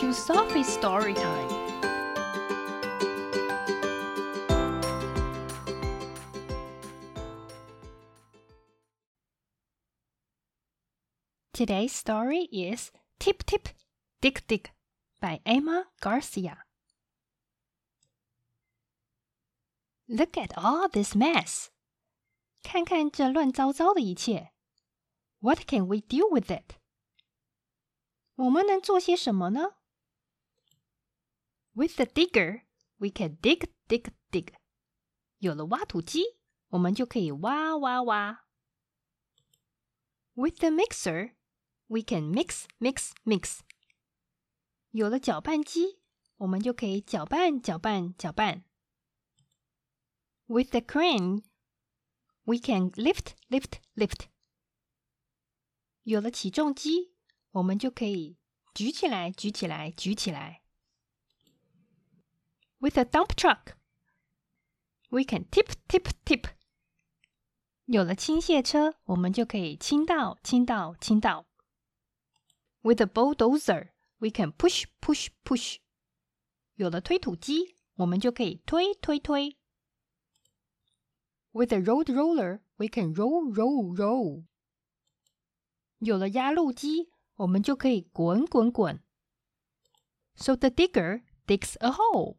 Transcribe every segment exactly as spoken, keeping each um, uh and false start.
to Sophie's story time. Today's story is Tip Tip, Dick Dick by Emma Garcia. Look at all this mess. 看看这乱糟糟的一切。What can we do with it? 我们能做些什么呢？ With the digger, we can dig, dig, dig. 有了挖土机，我们就可以挖挖挖。With the mixer, we can mix, mix, mix. 有了搅拌机，我们就可以搅拌搅拌搅拌。With the crane, we can lift, lift, lift. 有了起重机，我们就可以举起来举起来举起来。With a dump truck, we can tip, tip, tip. 有了倾卸车，我们就可以倾倒倾倒倾倒。With a bulldozer, we can push, push, push. 有了推土机，我们就可以推推推。With a road roller, we can roll, roll, roll. 有了压路机，我们就可以滚滚滚。So the digger digs a hole.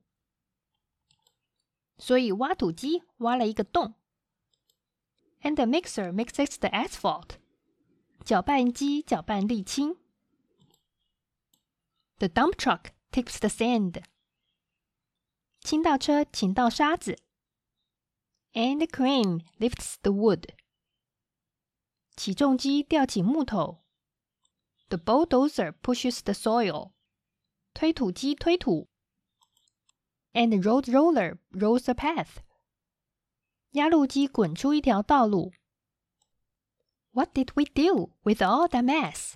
所以挖土机挖了一个洞。And the mixer mixes the asphalt. 搅拌机搅拌沥青。The dump truck tips the sand. 倾倒车倾倒沙子。And the crane lifts the wood. 起重机吊起木头。The bulldozer pushes the soil. 推土机推土。And the road roller rolls a path. 压路机滚出一条道路。What did we do with all that mess?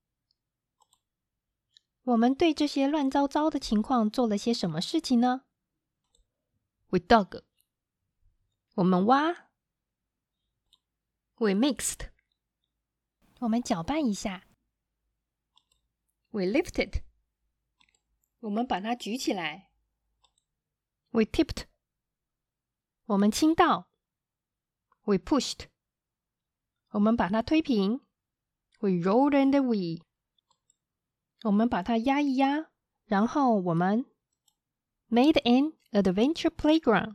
我们对这些乱糟糟的情况做了些什么事情呢？ We dug. 我们挖。We mixed. 我们搅拌一下。We lifted. 我们把它举起来。We tipped. 我们倾倒。We pushed. 我们把它推平。We rolled and we. 我们把它压一压，然后我们 made an adventure playground.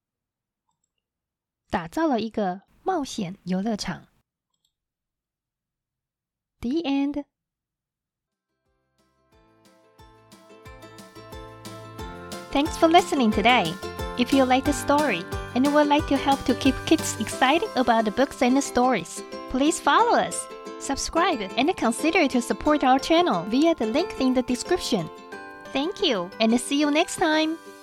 打造了一个冒险游乐场。The end. Thanks for listening today. If you like the story and would like to help to keep kids excited about the books and the stories, please follow us, subscribe, and consider to support our channel via the link in the description. Thank you, and see you next time.